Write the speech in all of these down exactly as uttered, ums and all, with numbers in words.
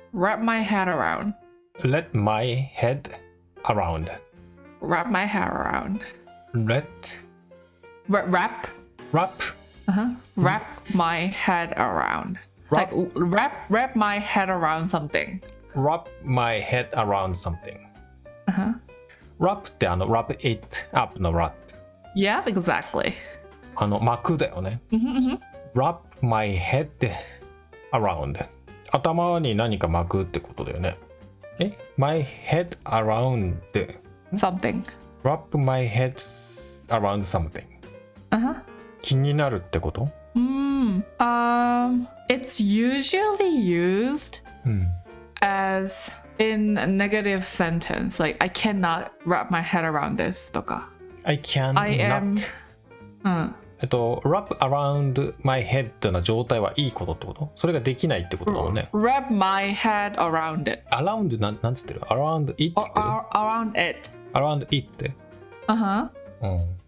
wrap my head around. let my head around. Wrap my head around. let Wra- wrap. wrap Uh-huh. Wrap my head around. Wrap- Like wrap wrap my head around something. wrap my head around something. Uh-huh. wrap ってあの wrap it up の wrap Yeah, exactly. あの巻くだよね。 Mm-hmm, mm-hmm. wrap my head around 頭に何か巻くってことだよね。え my head around Something. wrap my head around something Uh-huh. 気になるってこと Mm. Um, it's usually used うん as in a negative sentence. Like, I cannot wrap my head around this. とか I can I am- not うん。 えっと wrap around my head な状態はいいことってことそれができないってことだもんね。 Wrap my head around it. around なんなんつってる around it っ Or, つってる or around it. around it って Uh-huh. うん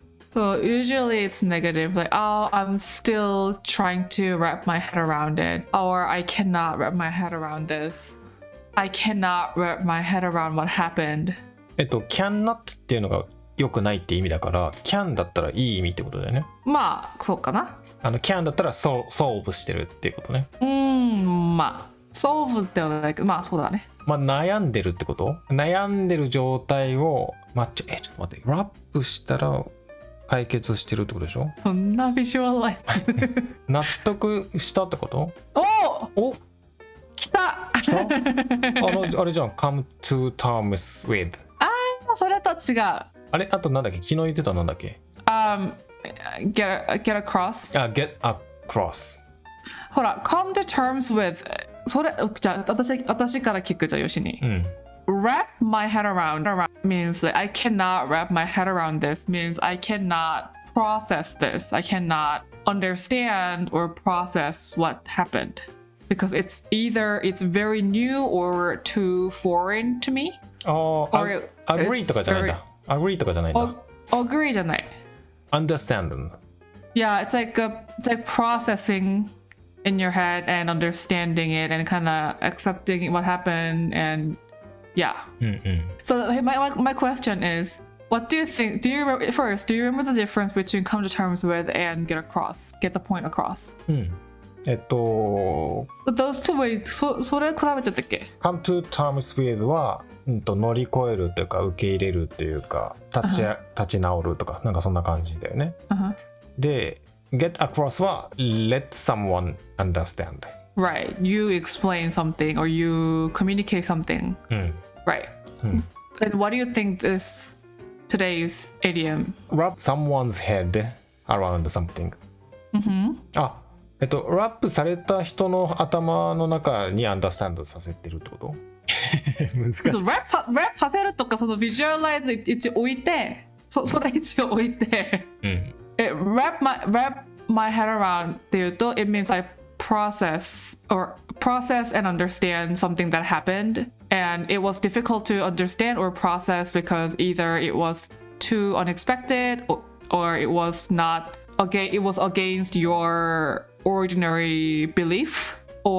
So usually it's negative, like, oh, I'm still trying to wrap my head around it, or I cannot wrap my head around this. I cannot wrap my head around what happened. えっと cannot っていうのが良くないって意味だから can だったらいい意味ってことだよね。 まあ、そうかな。 あの can だったら sol- solve してるっていうことね。 うーん、まあ、solve ってはないけど、まあそうだね。 まあ悩んでるってこと悩んでる状態を、まあ、ちょえちょっと待ってラップしたら解決してるってことでしょそんなビジュアライズ。 納得したってことおお来た来たあのあれじゃん come to terms with それと違う。 あれあとなんだっけ昨日言ってたなんだっけ Um, get, get across. あ get across ほら、come to terms with それ、じゃあ私、私から聞くじゃあよしに。 うん Wrap my head around, around means like I cannot wrap my head around this means I cannot process this. I cannot understand or process what happened because it's either it's very new or too foreign to me. あー Or a- agree とかじゃないんだ agree とかじゃないんだ O- agree じゃない。 understand Yeah, it's like a, it's like processing in your head and understanding it and kind of accepting what happened and yeah. うんうん So my, my my question is, what do you think? Do you re- first? Do you remember the difference between come to terms with and get across, get the point across? うんえっと Those two ways. そそれ比べてたっけ？ come to terms with は、うん、と乗り越えるというか受け入れるというか立ち,、立ち直るとかなんかそんな感じだよね。 Uh-huh. で get across は let someone understand。 Right. You explain something or you communicate something. うん Right. うん、 And what do you think this today's idiom? wrap someone's head around something。 Mm-hmm. あえっとラップされた人の頭の中にアンダースタンドさせてるってこと難しい。 Rap さ rap させるとかそのビジュアライズ一応置いて、そそれ一応置いて。 うん It, wrap my wrap my head around っていうと it means I process or process and understand something that happened and it was difficult to understand or process because either it was too unexpected or, or it was not okay it was against your ordinary belief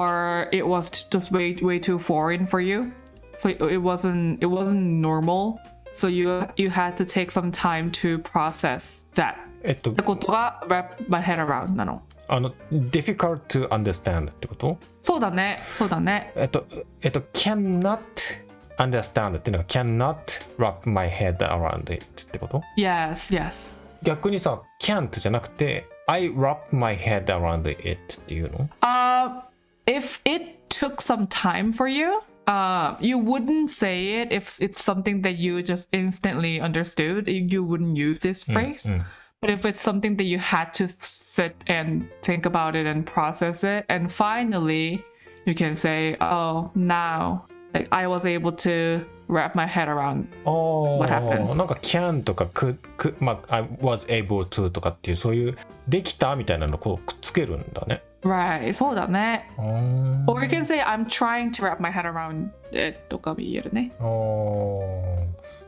or it was t- just way way too foreign for you so it, it wasn't it wasn't normal so you you had to take some time to process that えっとってことが wrap my head around なの。 あの difficult to understand ってことそうだね、そうだね。 えっとえっと cannot understand っていうのが cannot wrap my head around it ってこと Yes, yes. 逆にさ can't じゃなくて I wrap my head around it っていうの Uh, if it took some time for you, uh, you wouldn't say it if it's something that you just instantly understood. You wouldn't use this うん phrase. うん But if it's something that you had to sit and think about it and process it, and finally you can say, oh, now like I was able to wrap my head around. あー What happened? なんか can とか could, could まあ I was able to とかっていうそういうできたみたいなのをこうくっつけるんだね。 Right, そうだね。 あー Or you can say, I'm trying to wrap my head around it とかも言えるね。 あー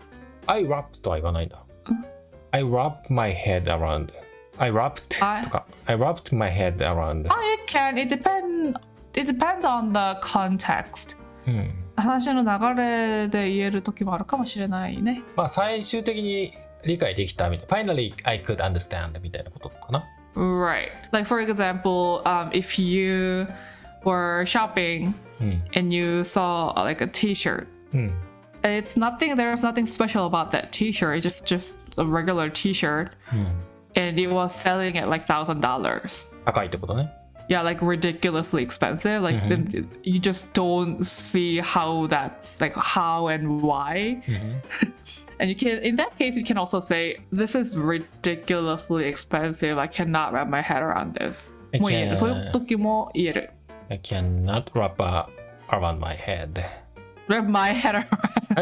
I wrapped とは言わないんだ。I wrapped my head around. I wrapped I- とか I wrapped my head around. Oh, you can. It depend. It depends on the context. ううん、 話の流れで言える時もあるかもしれないね。 まあ最終的に理解できたみたいな Finally I could understand みたいなことかな。 Right. Like for example, um, if you were shopping うん and you saw uh, like a t-shirt, うん it's nothing, there's nothing special about that t-shirt. It's just just a regular t-shirt うん、 and it was selling at like thousand dollars. 高いってことね。 Yeah, like ridiculously expensive. Like Mhm. the, you just don't see how that's like how and why. うん And you can, in that case, you can also say, this is ridiculously expensive. I cannot wrap my head around this. I もう言える。 can't- そういう時も言える。 I cannot wrap a- around my head. Wrap my head around.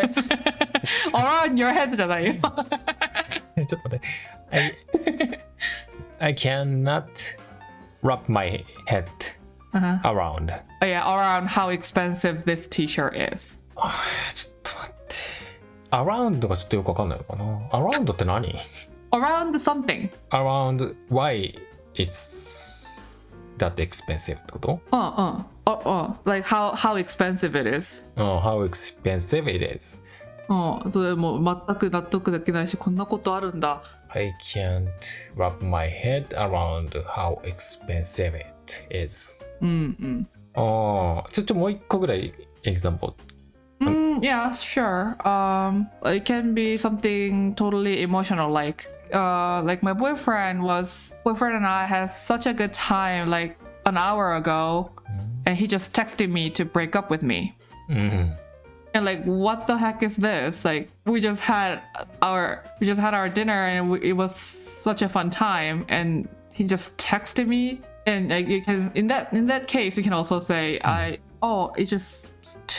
around your head じゃないよ。 ちょっと待って。I, I cannot wrap my head Uh-huh. around. Oh, yeah, around how expensive this t-shirt is. あーちょっと待って。around がちょっとよくわかんないのかな。around って何？ Around something. around why it's that expensive ってこと？ Uh, uh, uh, uh. Like how, how expensive it is. Oh, how expensive it is. うん、それも全く納得できないし、こんなことあるんだ。 I can't wrap my head around how expensive it is. うんうん。 ああ、ちょっともう一個ぐらい example. Mm, yeah, sure. Um, it can be something totally emotional, like, uh, like my boyfriend was boyfriend and I had such a good time like an hour ago, and he just texted me to break up with me. うん。 And like, what the heck is this? Like, we just had our we just had our dinner, and we, it was such a fun time, and he just texted me. And like, you can in that in that case, you can also say, I oh, it's just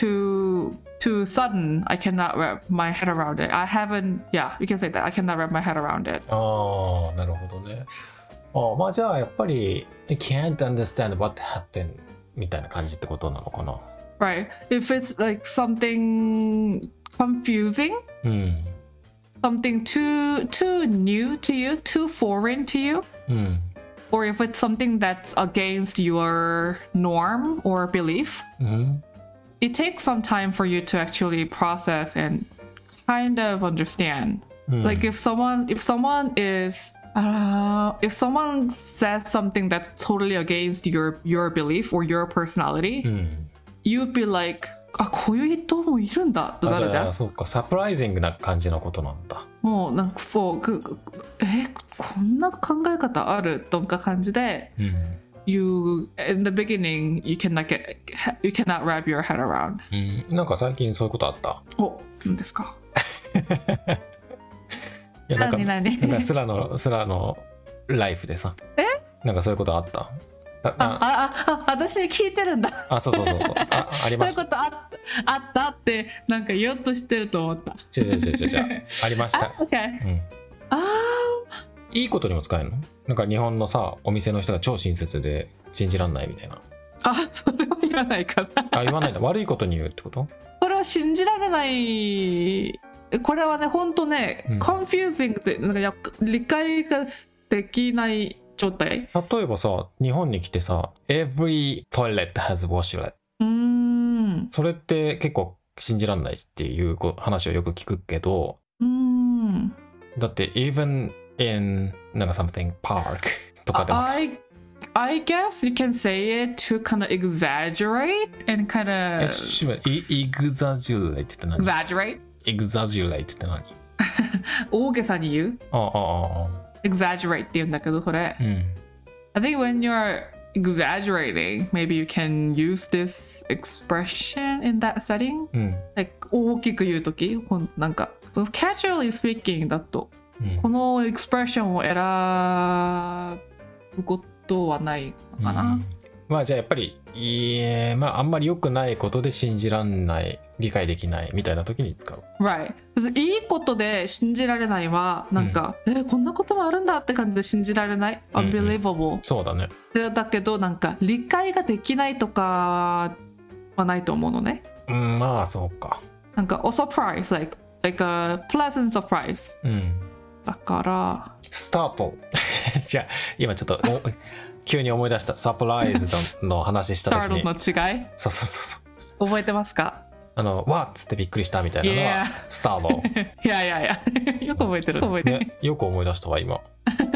too too sudden. I cannot wrap my head around it. I haven't. Yeah, you can say that. I cannot wrap my head around it. ああ、なるほどね。ああ、まあじゃあやっぱり I can't understand what happened みたいな感じってことなのかな。 Right. If it's like something confusing, うん。 something too too new to you, too foreign to you, うん。 or if it's something that's against your norm or belief, うん。 it takes some time for you to actually process and kind of understand. うん。 Like if someone if someone is uh, if someone says something that's totally against your your belief or your personality, うん。 you'd be like, あ、こういう人もいるんだとなあ、じるじゃん。 ゃあそうか、サプライジングな感じのことなんだ。 もうなんかそうくくえこんな考え方あるとか感じで、 うん。 you in the beginning you cannot get you cannot wrap your head around. うん、なんか最近そういうことあった？ お、何ですか？ いやなんか何何？ なんかスラのスラのライフでさ、 え？ なんかそういうことあった？あああああ私に聞いてるんだ。 あそうそうそうそうあありました。 そういうことあったあったってなんか言おうとしてると思った。 違う違う違う違うありました。 あ、OK。 うん。 あいいことにも使えるの？なんか日本のさお店の人が超親切で信じらんないみたいな。 あ、それは言わないかな。 あ言わないんだ。悪いことに言うってこと？ それは信じられない。これはね、本当ね、 うん confusing ってなんかや理解ができない状態。 例えばさ日本に来てさ Every toilet has washlet うーん。 それって結構信じらんないっていうこ話をよく聞くけど、 うーん。 だって even in なんか something park とかでもさ I I guess you can say it to kind of exaggerate and kind え of ちょっと待って exaggerate って何？ exaggerate exaggerate って何？ 大げさに言うああああ exaggerate って言うんだけどそれ。 うん I think when you're exaggerating, maybe you can use this expression in that setting. うん Like 大きく言うとき、ほんなんか casually speaking だとうんこのエクスプレッションを選ぶことはないのかな。 うんまあじゃあやっぱりいいまああんまり良くないことで信じらんない理解できないみたいな時に使う。 Right. いいことで信じられないはなんか、えーこんなこともあるんだって感じで信じられない。 うんうん Unbelievable、 そうだね。 でだけどなんか理解ができないとかはないと思うのね。 うんまあそうか。 なんか a surprise, like, like a pleasant surprise うんだからスタートじゃあ今ちょっとお急に思い出したサプライズの話した時 startle にの違いそうそうそうそう覚えてますか？ あの、わっつってびっくりしたみたいなのは、 Yeah. スタート。 いやいやいや、よく覚えてる。覚えてる。 ね、よく思い出したわ、今。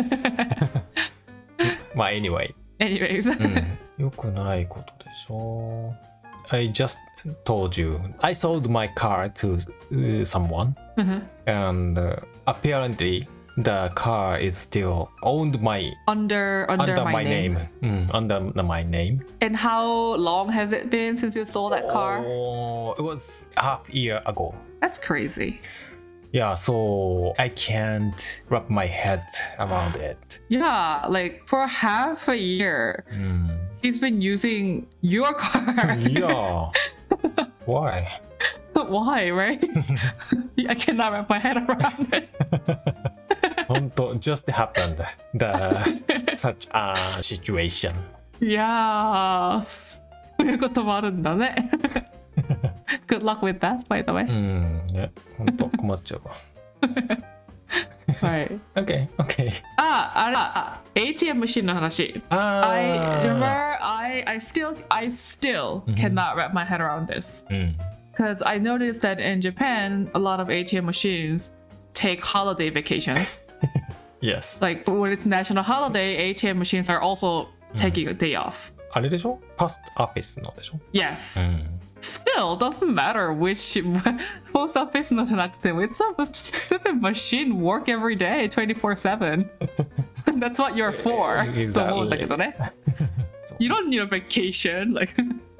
まあ、anyway。 Anyways. うん、よくないことでしょ。I just told you I sold my car to uh, someone, and uh, apparently the car is still owned my under under, under my, my name. name. Mm, under my name. And how long has it been since you sold that car? Oh, it was half year ago. That's crazy. Yeah, so I can't wrap my head around it. Yeah, like for half a year, うん、 he's been using your car. いや、why? Why, right? I cannot wrap my head around it. 本当 just happened the such a situation. いやー、そういうこともあるんだね。Good luck with that, by the way. うんね、本当困っちゃうわ。 はい。 Okay, okay. あ、あれだ、エーティーエム マシンの話。 あ I ー remember I I still I still cannot wrap my head around this うん because I noticed that in Japan a lot of A T M machines take holiday vacations. Yes. Like when it's national holiday, A T M machines are also taking a day off. あれでしょ？パストオフィスのでしょ？ Yes. うん。 Still doesn't matter which post office のじゃなくても it's a stupid machine work every day twenty-four seven. That's what you're for. と思うんだけどね。You don't need a vacation. Like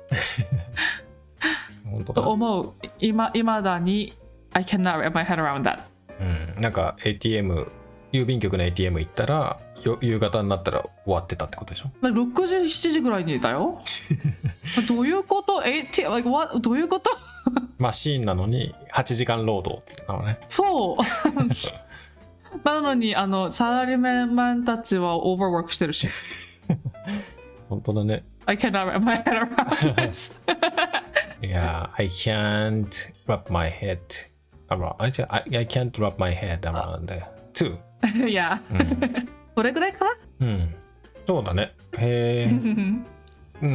本当だ。 と思う。今今だに I cannot wrap my head around that. うん。なんか エーティーエム 郵便局の エーティーエム 行ったらよ夕方になったら終わってたってことでしょ？ ろくじしちじぐらいにいたよ。どういうこと？ エーティーエム like what? どういうこと？ マシーンなのにはちじかん労働なのね。 そう。なのにあのサラリーマンたちはオーバーワークしてるし。 本当だね。 I cannot wrap my head around this. Yeah, I can't wrap my head around. I, I can't wrap my head around too. Yeah. どれぐらいかな？ うん。そうだね。へえ。うん。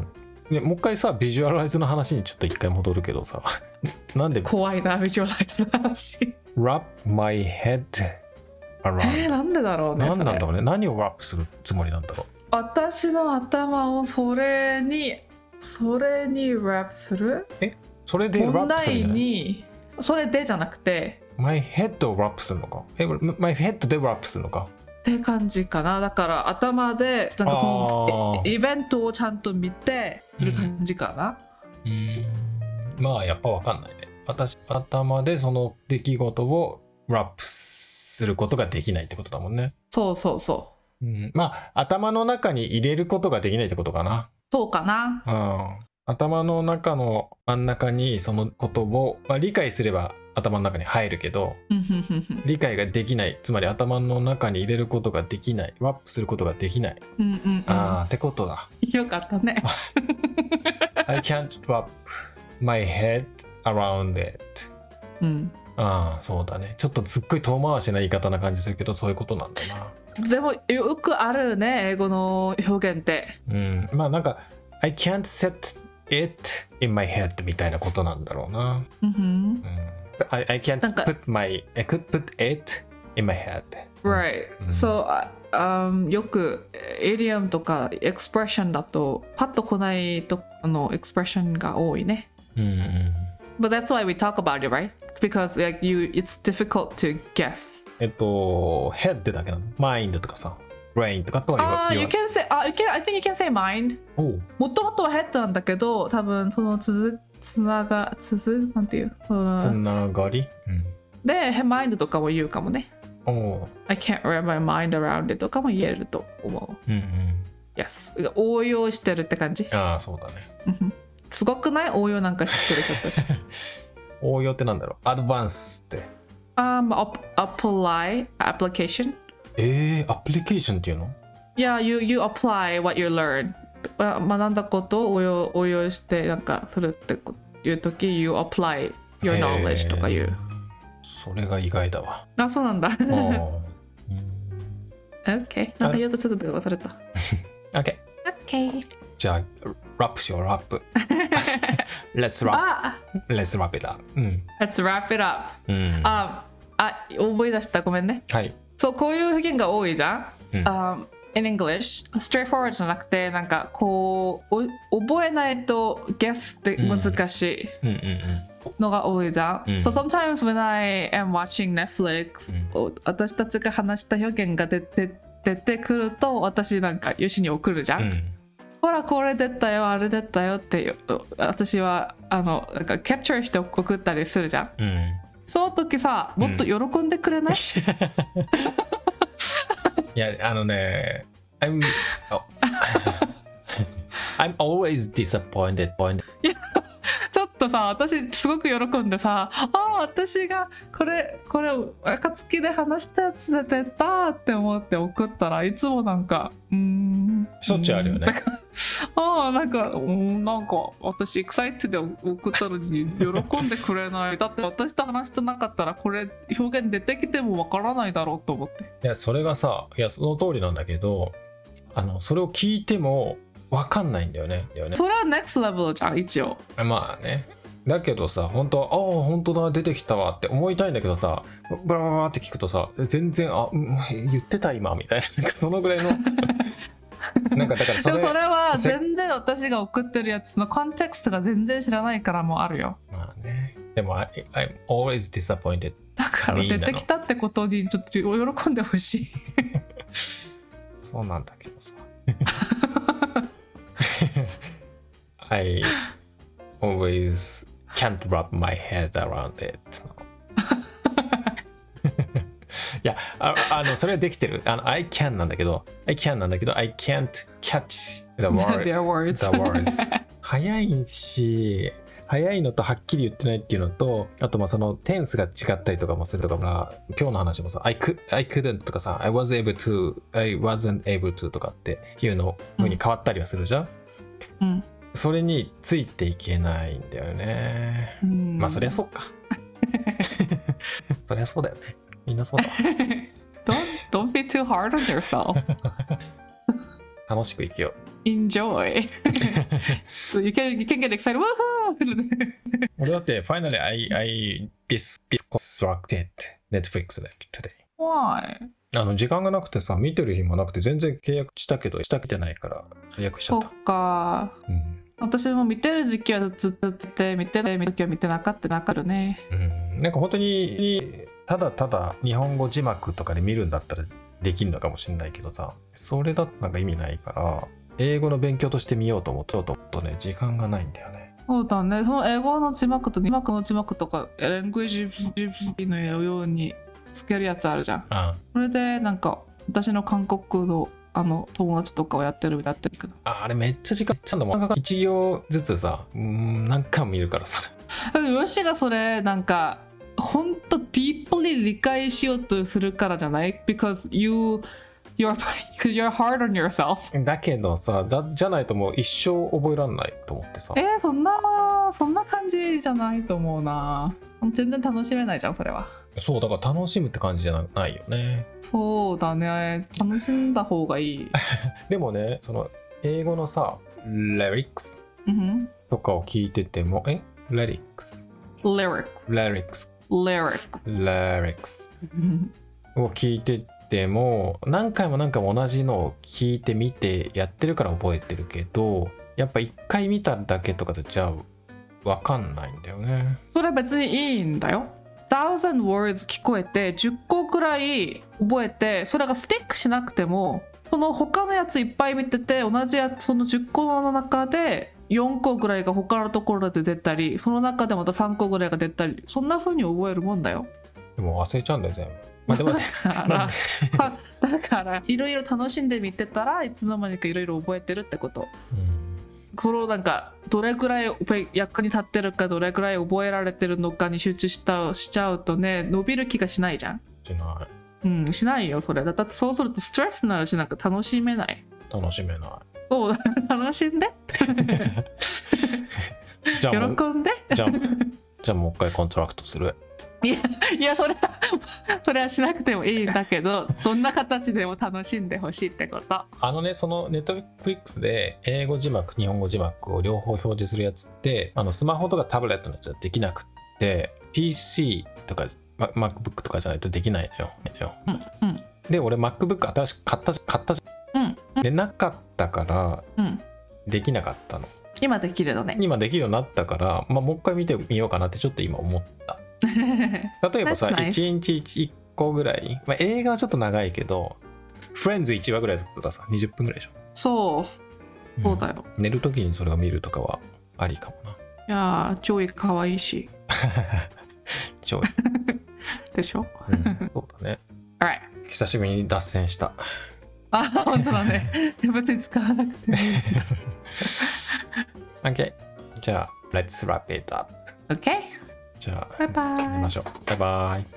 ね、もう一回さ、ビジュアライズの話にちょっと一回戻るけどさ。なんで怖いな、ビジュアライズの話。 wrap my head around。 えー、なんでだろうね。 何なんだろうね。何を wrap するつもりなんだろう。 私の頭をそれに、それに wrap する？ え、それで wrap するんじゃない？ に、それでじゃなくて。 my head を wrap するのか？え、my head で wrap するのか？ って感じかな。だから頭でなんかこのイベントをちゃんと見ている感じかな。 うん、うん、まあやっぱ分かんないね。私頭でその出来事をラップすることができないってことだもんね。 そうそうそう。 うん、まあ頭の中に入れることができないってことかな。 そうかな。 うん、頭の中の真ん中にそのことを、まあ、理解すれば頭の中に入るけど理解ができない、つまり頭の中に入れることができない、ワップすることができない、 うんうんうん、 ああってことだ。 よかったね。 I can't wrap my head around it、 うん、 ああそうだね。ちょっとすっごい遠回しな言い方な感じするけどそういうことなんだな。 でもよくあるね、英語の表現って。 うん、まあなんか I can't set it in my head みたいなことなんだろうな。 うん、うん I, I can't put my I could put it in my head. Right. So、um, よくエディアムとかエクスプレッションだとパッと来ないとあのエクスプレッションが多いね。 うんうん。 But that's why we talk about it, right? Because like you, it's difficult to guess. えっと head だけなの。mind とかさ、brain とかとは言わああ、you can say あ、you can I think you can say mind. もともとは head なんだけど、多分その続つながつづなんていうそのつながり、うん、 で mind とかも言うかもね。 お I can't wrap my mind around it とかも言えると思う。 うんうん。 Yes。応用してるって感じ。 ああそうだね。 すごくない？応用なんか知ってるちょっとし。 応用ってなんだろう？アドバンスって。 Um, apply application。 えー、アプリケーションっていうの？ Yeah, you you apply what you learn。学んだことを応用応用してなんかするっていうとき You apply your knowledge とか言う。 それが意外だわ。 あ、そうなんだ。 OK。 なんか言おうとしてたけど忘れた。 OK。 OK。 じゃあラップしよう、ラップ。Let's wrap, let's wrap it up. うん。 Let's wrap it up. うん。 あ、あ、覚え出した。ごめんね。 はい。 そう、こういう表現が多いじゃん。 うん、 um, in English, straightforward じゃなくて、なんかこう、覚えないと guess って難しいのが多いじゃん。うん、so sometimes when I am watching Netflix、うん、私たちが話した表現が出て、出てくると、私なんかよしに送るじゃん。うん、ほら、これ出たよ、あれ出たよって、私はあのなんかキャプチャーして送ったりするじゃん。うん、その時さ、もっと喜んでくれない？うんいや、あのね、I'm, I'm always disappointed. いや、ちょっとさ、私すごく喜んでさ、ああ、私がこれ、これ、暁で話したやつで出たって思って送ったらいつもなんか、うーん。 しょっちゅうあるよね。 ああ、なんか、うん、なんか私、エクサイトで送ったのに喜んでくれない。だって私と話してなかったら、これ表現出てきてもわからないだろうと思って。 いや、それがさ、いや、その通りなんだけど、あの、それを聞いてもわかんないんだよね。だよね。 それは next level じゃん、一応。 まあね。だけどさ、本当は、ああ、本当だ、出てきたわって思いたいんだけどさ、ブラーって聞くとさ、全然、あ、言ってた今みたいな、なんかそのぐらいの。なんかだからそれでもそれは全然私が送ってるやつのコンテクストが全然知らないからもあるよ。 まあね。でも I, I'm always disappointed. だから出てきたってことにちょっと喜んでほしい。 そうなんだけどさ。I always can't wrap my head around it. いや あ, あのそれはできてる。あの I can なんだけど I can なんだけど I can't catch the, word, Their words. the words 早いし早いのとはっきり言ってないっていうのとあとまあそのテンスが違ったりとかもするとか今日の話もさ I, could, I couldn't とかさ I was able to I wasn't able to とかっていうの風に変わったりはするじゃん、うん、それについていけないんだよね、うん、まあそりゃそうかそりゃそうだよねみんなそうだ don't, don't be too hard on yourself 楽しく生きよう Enjoy so you can, you can get excited 俺だって Finally I, I dis, disconstructed Netflix today Why? あの時間がなくてさ見てる暇なくて全然契約したけどしたくてないから契約しちゃった。 そっか、うん、私も見てる時期はずっとずっと見てない時は見てなかったなかるね、 うん、なんか本当にただただ日本語字幕とかで見るんだったらできるのかもしれないけどさそれだとなんか意味ないから英語の勉強として見ようと思ってととね時間がないんだよね。 そうだね。その英語の字幕と字幕の字幕とかラングエージ ジーピー のようにつけるやつあるじゃん。ああそれでなんか私の韓国のあの友達とかをやってるやってるけどあ, あれめっちゃ時間ちゃんといち行ずつさうん何回も見るからさよしがそれなんかほんと deeply 理解しようとするからじゃない because you you're, you're hard on yourself だけどさだじゃないともう一生覚えらんないと思ってさえー、そんなそんな感じじゃないと思うな全然楽しめないじゃんそれはそうだから楽しむって感じじゃないよねそうだね楽しんだ方がいいでもねその英語のさレリックスとかを聞いてても、うん、えレリックスレリックスレリックスレリックスレリックスを聞いてても何回も何回も同じのを聞いてみてやってるから覚えてるけどやっぱ一回見ただけとかじゃ分かんないんだよねそれ別にいいんだよthousand words 聞こえてじゅっこくらい覚えてそれがスティックしなくてもその他のやついっぱい見てて同じやつそのじゅっこの中でよんこぐらいが他のところで出たりその中でまたさんこぐらいが出たりそんな風に覚えるもんだよでも忘れちゃうんだよ全部まあ、でもだからだからいろいろ楽しんで見てたらいつの間にかいろいろ覚えてるってこと、うん、そのなんかどれくらい役に立ってるかどれくらい覚えられてるのかに集中したしちゃうとね伸びる気がしないじゃんしないうんしないよそれだってそうするとストレスになるしなんか楽しめない楽しめないそうだ楽しんでじゃあ喜んでじゃあじゃあもう一回コントラクトするいやいやそれはそれはしなくてもいいんだけど、どんな形でも楽しんでほしいってこと。 あのね、そのネットフリックスで英語字幕日本語字幕を両方表示するやつって、あのスマホとかタブレットのやつはできなくって、 ピーシー とか MacBook とかじゃないとできないのよ、 うんうん、 で俺 MacBook 新しく買った買ったじゃん、うんうん、でなかったから、うん、できなかったの。 今できるのね。 今できるようになったから、まあ、もう一回見てみようかなってちょっと今思った。例えばさ、nice. いちにちいっこぐらい、まあ、映画はちょっと長いけどフレンズいちわぐらいだったらさにじゅっぷんぐらいでしょ。 そうそうだよ、 うん、寝るときにそれを見るとかはありかもな。いやー超かわいいし超でしょ、 うん、そうだね。 Alright. 久しぶりに脱線した。 あ、本当だね。別に使わなくてもいい。 OK。じゃあ、Let's wrap it up. OK。 じゃあ、 バイバイ。 やりましょう。バイバイ。